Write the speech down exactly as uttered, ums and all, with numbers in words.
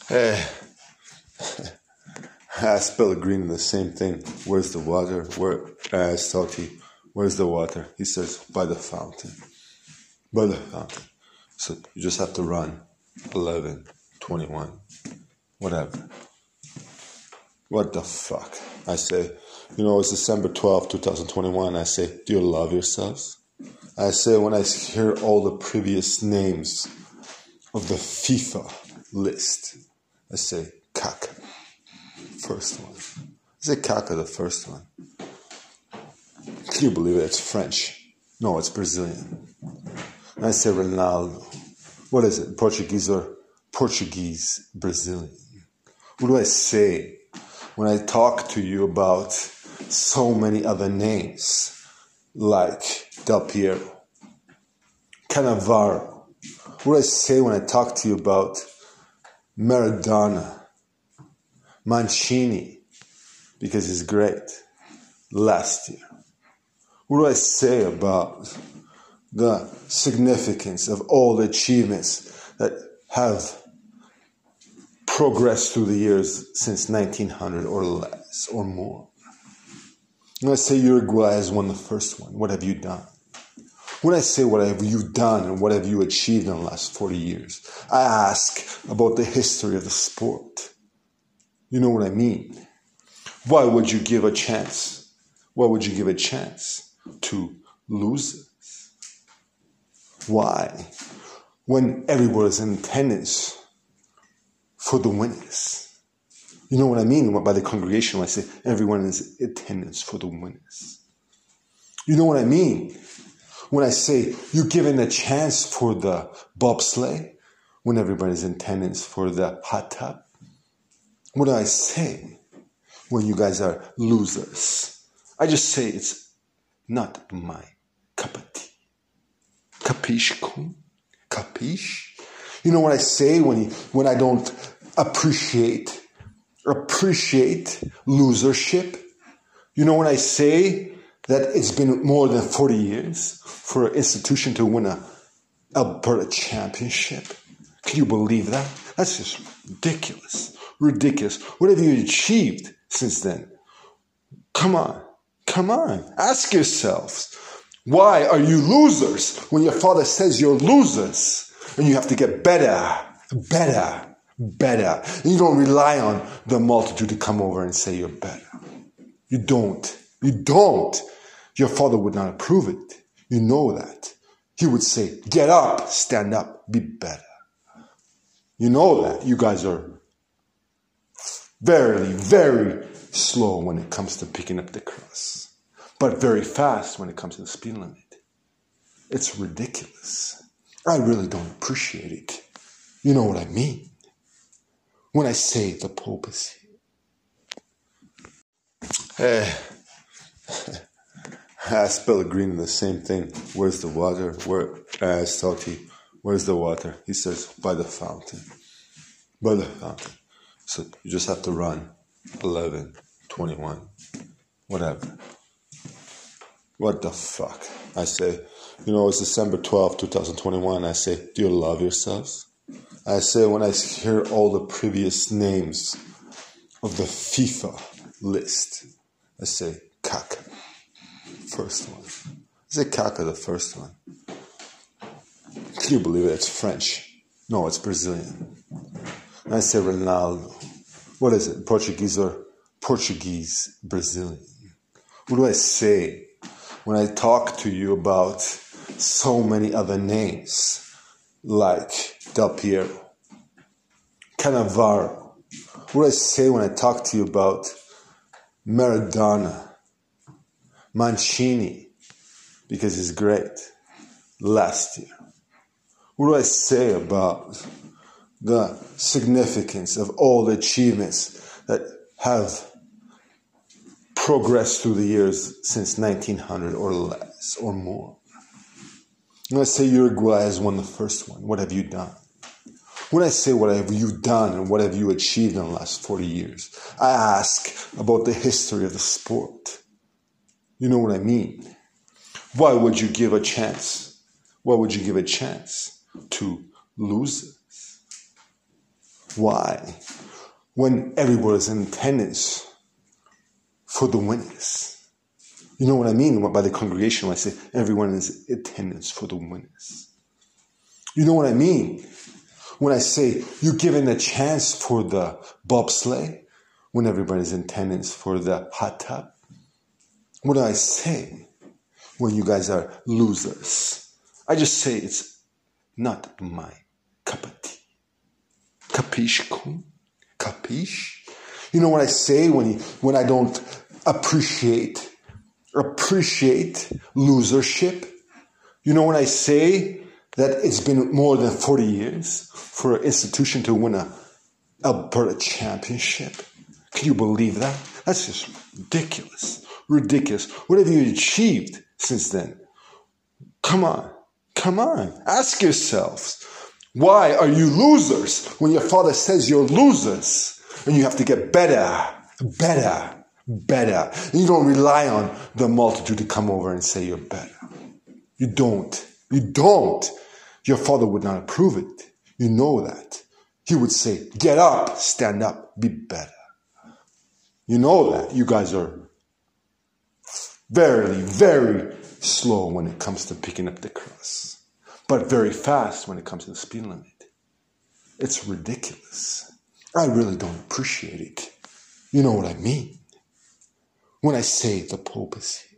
Hey, I spell green the same thing. Where's the water? Where I salty. Where's the water? He says, by the fountain. By the fountain. So you just have to run. eleven, twenty-one, whatever. What the fuck? I say, you know, it's December twelfth, twenty twenty-one. I say, do you love yourselves? I say, when I hear all the previous names of the FIFA list, I say, Kaka, first one. I say Kaka, the first one. Can you believe it? It's French. No, it's Brazilian. And I say Ronaldo. What is it? Portuguese or Portuguese Brazilian? What do I say when I talk to you about so many other names like Del Piero, Cannavaro? What do I say when I talk to you about Maradona, Mancini, because he's great, last year? What do I say about the significance of all the achievements that have progressed through the years since nineteen hundred or less or more? When I say Uruguay has won the first one, what have you done? When I say what have you done and what have you achieved in the last forty years, I ask about the history of the sport. You know what I mean? Why would you give a chance? Why would you give a chance to losers? Why? When everyone is in attendance for the winners. You know what I mean by the congregation when I say everyone is in attendance for the winners. You know what I mean when I say you're giving a chance for the bobsleigh when everybody's in attendance for the hot tub. What do I say when you guys are losers? I just say it's not my cup of tea. Capiche, queen? Capiche? You know what I say when you, when I don't appreciate appreciate losership? You know when I say that it's been more than forty years for an institution to win a Alberta championship? Can you believe that? That's just ridiculous. Ridiculous. What have you achieved since then? Come on. Come on. Ask yourselves. Why are you losers when your father says you're losers? And you have to get better, better, better. And you don't rely on the multitude to come over and say you're better. You don't. You don't. Your father would not approve it. You know that. He would say, get up, stand up, be better. You know that. You guys are very, very slow when it comes to picking up the cross. But very fast when it comes to the speed limit. It's ridiculous. I really don't appreciate it. You know what I mean? When I say the Pope is here. Hey, I spell green the same thing. Where's the water? Where I salty. Where's the water? He says, by the fountain. By the fountain. So you just have to run. eleven, twenty-one, whatever. What the fuck? I say, you know, it's December twelfth, twenty twenty-one. I say, do you love yourselves? I say, when I hear all the previous names of the FIFA list, I say, Kaka, first one. I say Kaka, the first one. Can you believe it? It's French. No, it's Brazilian. And I say Ronaldo. What is it? Portuguese or Portuguese Brazilian? What do I say when I talk to you about so many other names like Del Piero, Cannavaro? What do I say when I talk to you about Maradona, Mancini, because he's great, last year? What do I say about the significance of all the achievements that have progressed through the years since nineteen hundred or less or more? When I say Uruguay has won the first one, what have you done? When I say what have you done and what have you achieved in the last forty years, I ask about the history of the sport. You know what I mean? Why would you give a chance? Why would you give a chance to losers? Why? When everyone is in attendance for the winners. You know what I mean by the congregation when I say everyone is in attendance for the winners. You know what I mean when I say you're given a chance for the bobsleigh when everybody's in attendance for the hot tub. What do I say when you guys are losers? I just say it's not my cup of tea. Capiche, kun? Capiche? You know what I say when you, when I don't appreciate appreciate losership? You know when I say that it's been more than forty years for an institution to win a Alberta championship? Can you believe that? That's just ridiculous. Ridiculous. What have you achieved since then? Come on. Come on. Ask yourselves. Why are you losers when your father says you're losers? And you have to get better, better, better. And you don't rely on the multitude to come over and say you're better. You don't. You don't. Your father would not approve it. You know that. He would say, get up, stand up, be better. You know that. You guys are very, very slow when it comes to picking up the cross, but very fast when it comes to the speed limit. It's ridiculous. I really don't appreciate it. You know what I mean when I say the papacy.